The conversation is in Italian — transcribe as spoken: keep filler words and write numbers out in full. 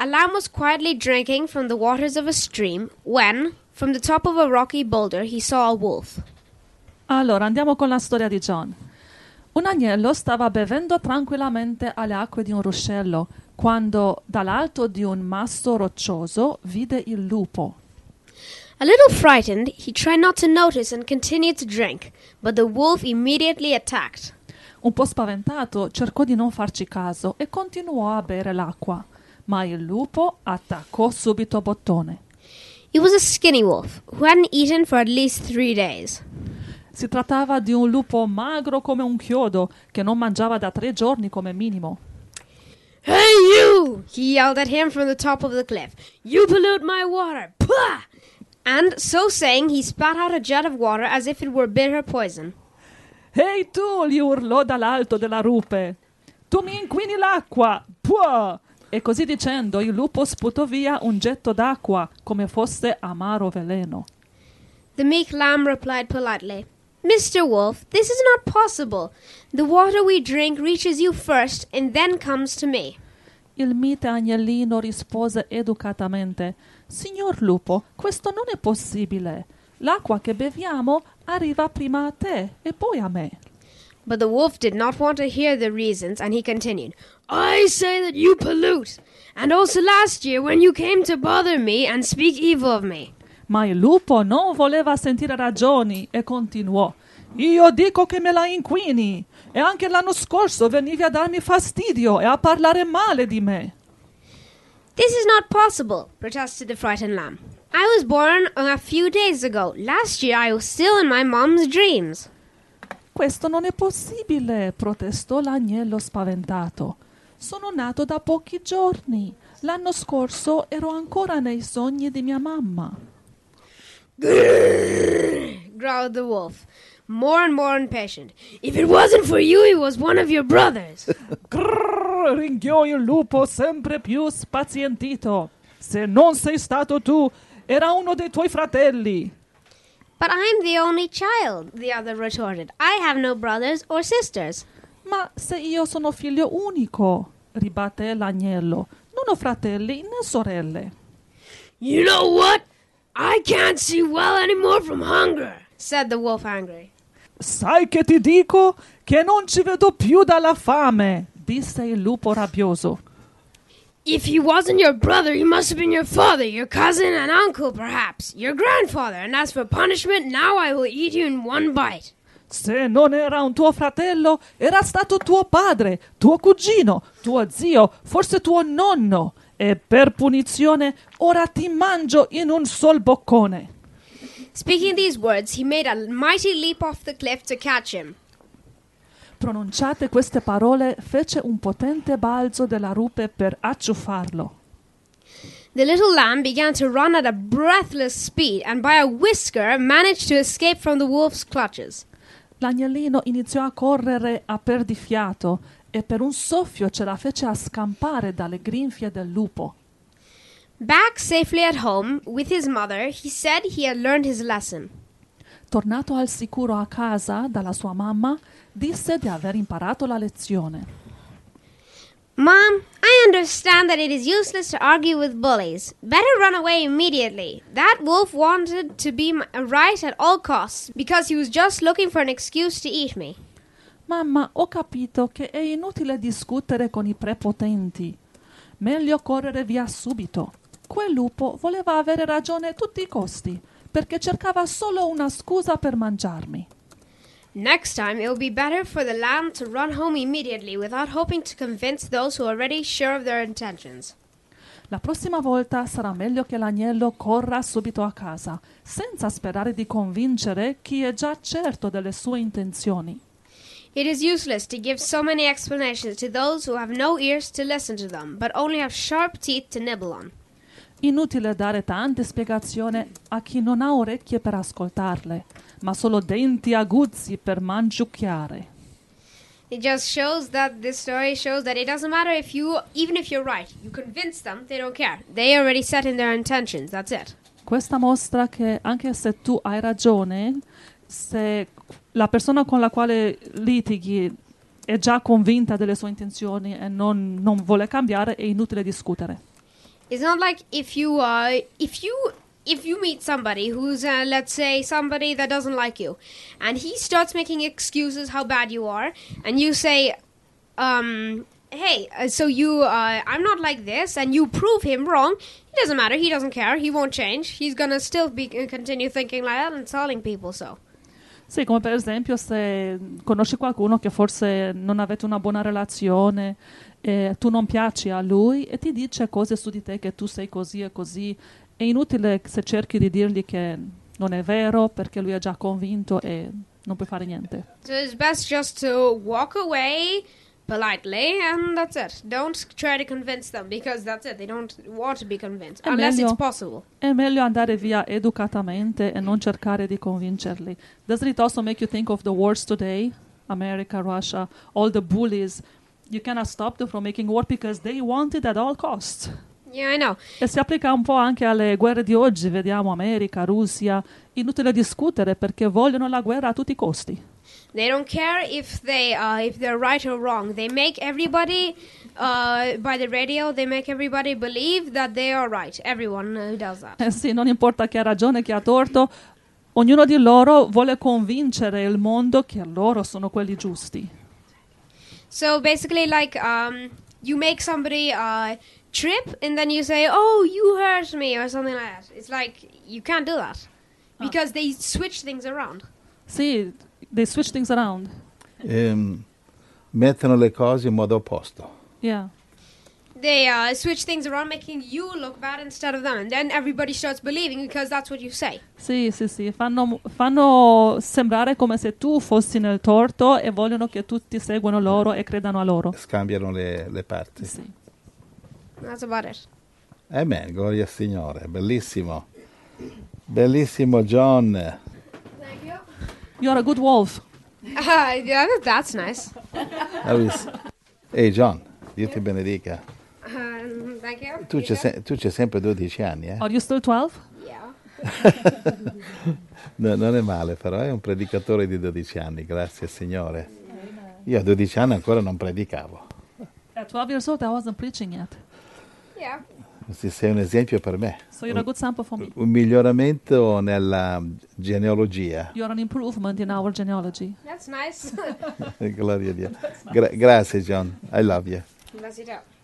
A lamb was quietly drinking from the waters of a stream when, from the top of a rocky boulder, he saw a wolf. Allora, andiamo con la storia di John. Un agnello stava bevendo tranquillamente alle acque di un ruscello quando dall'alto di un masso roccioso vide il lupo. A little frightened, he tried not to notice and continued to drink, but the wolf immediately attacked. Un po' spaventato, cercò di non farci caso e continuò a bere l'acqua, ma il lupo attaccò subito bottone. It was a skinny wolf who hadn't eaten for at least three days. Si trattava di un lupo magro come un chiodo che non mangiava da tre giorni come minimo. Hey you! He yelled at him from the top of the cliff. You pollute my water! Pah! And so saying, he spat out a jet of water as if it were bitter poison. Ehi tu! Gli urlò dall'alto della rupe. Tu mi inquini l'acqua! Puah! E così dicendo il lupo sputò via un getto d'acqua come fosse amaro veleno. The meek lamb replied politely, Mister Wolf, this is not possible. The water we drink reaches you first and then comes to me. Il mite agnellino rispose educatamente, Signor lupo, questo non è possibile. L'acqua che beviamo arriva prima a te e poi a me. But the wolf did not want to hear the reasons, and he continued, I say that you pollute, and also last year when you came to bother me and speak evil of me. Ma il lupo non voleva sentire ragioni e continuò. Io dico che me la inquini e anche l'anno scorso venivi a darmi fastidio e a parlare male di me. This is not possible, protested the frightened lamb. I was born a few days ago. Last year I was still in my mom's dreams. Questo non è possibile, protestò l'agnello spaventato. Sono nato da pochi giorni. L'anno scorso ero ancora nei sogni di mia mamma. Grrr, growled the wolf, more and more impatient. If it wasn't for you, he was one of your brothers. Grrr, ringhiò il lupo sempre più spazientito. Se non sei stato tu, era uno dei tuoi fratelli. But I'm the only child, the other retorted. I have no brothers or sisters. Ma se io sono figlio unico, ribatté l'agnello, non ho fratelli né sorelle. You know what? I can't see well anymore from hunger, said the wolf angry. Sai che ti dico? Che non ci vedo più dalla fame, disse il lupo rabbioso. If he wasn't your brother, he must have been your father, your cousin and uncle, perhaps, your grandfather. And as for punishment, now I will eat you in one bite. Se non era un tuo fratello, era stato tuo padre, tuo cugino, tuo zio, forse tuo nonno. E per punizione ora ti mangio in un sol boccone. Speaking these words, he made a mighty leap off the cliff to catch him. Pronunciate queste parole, fece un potente balzo della rupe per acciuffarlo. The little lamb began to run at a breathless speed and by a whisker managed to escape from the wolf's clutches. L'agnellino iniziò a correre a perdifiato e per un soffio ce la fece a scampare dalle grinfie del lupo. Back safely at home with his mother, he said he had learned his lesson. Tornato al sicuro a casa dalla sua mamma, disse di aver imparato la lezione. Mom, I understand that it is useless to argue with bullies. Better run away immediately. That wolf wanted to be right at all costs because he was just looking for an excuse to eat me. Mamma, ho capito che è inutile discutere con i prepotenti. Meglio correre via subito. Quel lupo voleva avere ragione a tutti i costi, perché cercava solo una scusa per mangiarmi. Next time it will be better for the lamb to run home immediately without hoping to convince those who are already sure of their intentions. La prossima volta sarà meglio che l'agnello corra subito a casa, senza sperare di convincere chi è già certo delle sue intenzioni. It is useless to give so many explanations to those who have no ears to listen to them, but only have sharp teeth to nibble on. Inutile dare tante spiegazioni a chi non ha orecchie per ascoltarle, ma solo denti aguzzi per mangiucchiare. It just shows that this story shows that it doesn't matter if you, even if you're right, you convince them, they don't care. They already set in their intentions, that's it. Questa mostra che anche se tu hai ragione, se la persona con la quale litighi è già convinta delle sue intenzioni e non, non vuole cambiare, è inutile discutere. It's not like if you uh if you if you meet somebody who's uh, let's say somebody that doesn't like you, and he starts making excuses how bad you are, and you say, um, hey, uh, so you uh, I'm not like this, and you prove him wrong. It doesn't matter. He doesn't care. He won't change. He's gonna still be uh, continue thinking like that and telling people so. Sì, come per esempio se conosci qualcuno che forse non avete una buona relazione, e tu non piaci a lui e ti dice cose su di te che tu sei così e così, è inutile se cerchi di dirgli che non è vero perché lui è già convinto e non puoi fare niente. So it's best just to walk away politely, and that's it. Don't try to convince them, because that's it. They don't want to be convinced, È unless meglio- it's possible. È meglio andare via educatamente e non cercare di convincerli. Doesn't it also make you think of the wars today? America, Russia, all the bullies. You cannot stop them from making war because they want it at all costs. Yeah, I know. E si applica un po' anche alle guerre di oggi, vediamo America, Russia. Inutile discutere perché vogliono la guerra a tutti i costi. They don't care if they uh, if they're right or wrong. They make everybody uh, by the radio. They make everybody believe that they are right. Everyone uh, does that. Eh sì, non importa chi ha ragione, chi ha torto, ognuno di loro vuole convincere il mondo che loro sono quelli giusti. So basically, like um, you make somebody uh, trip, and then you say, "Oh, you hurt me," or something like that. It's like you can't do that because they switch things around. Sì, they switch things around. Ehm, mettono le cose in modo opposto. Yeah. They uh, switch things around, making you look bad instead of them, and then everybody starts believing because that's what you say. Sì, sì, sì, fanno, fanno sembrare come se tu fossi nel torto e vogliono che tutti seguano loro e credano a loro. Scambiano le, le parti. Sì. That's about it. Amen, gloria al Signore. Bellissimo. Bellissimo John. Thank you. You're a good wolf. Uh, yeah, that's nice. That was- Ehi John, Dio ti benedica. Um, thank you. Tu c'hai, se- tu c'hai sempre dodici anni, eh? Are you still twelve? Yeah. No, non è male, però è un predicatore di dodici anni, grazie al Signore. Io a dodici anni ancora non predicavo. At twelve years old, I wasn't preaching yet. Yeah. Sì, sei un esempio per me. So you're a good sample for me. Un miglioramento nella genealogia. You're an improvement in our genealogy. That's nice. Gloria a Dio. Gra- grazie John, I love you. Bless you too.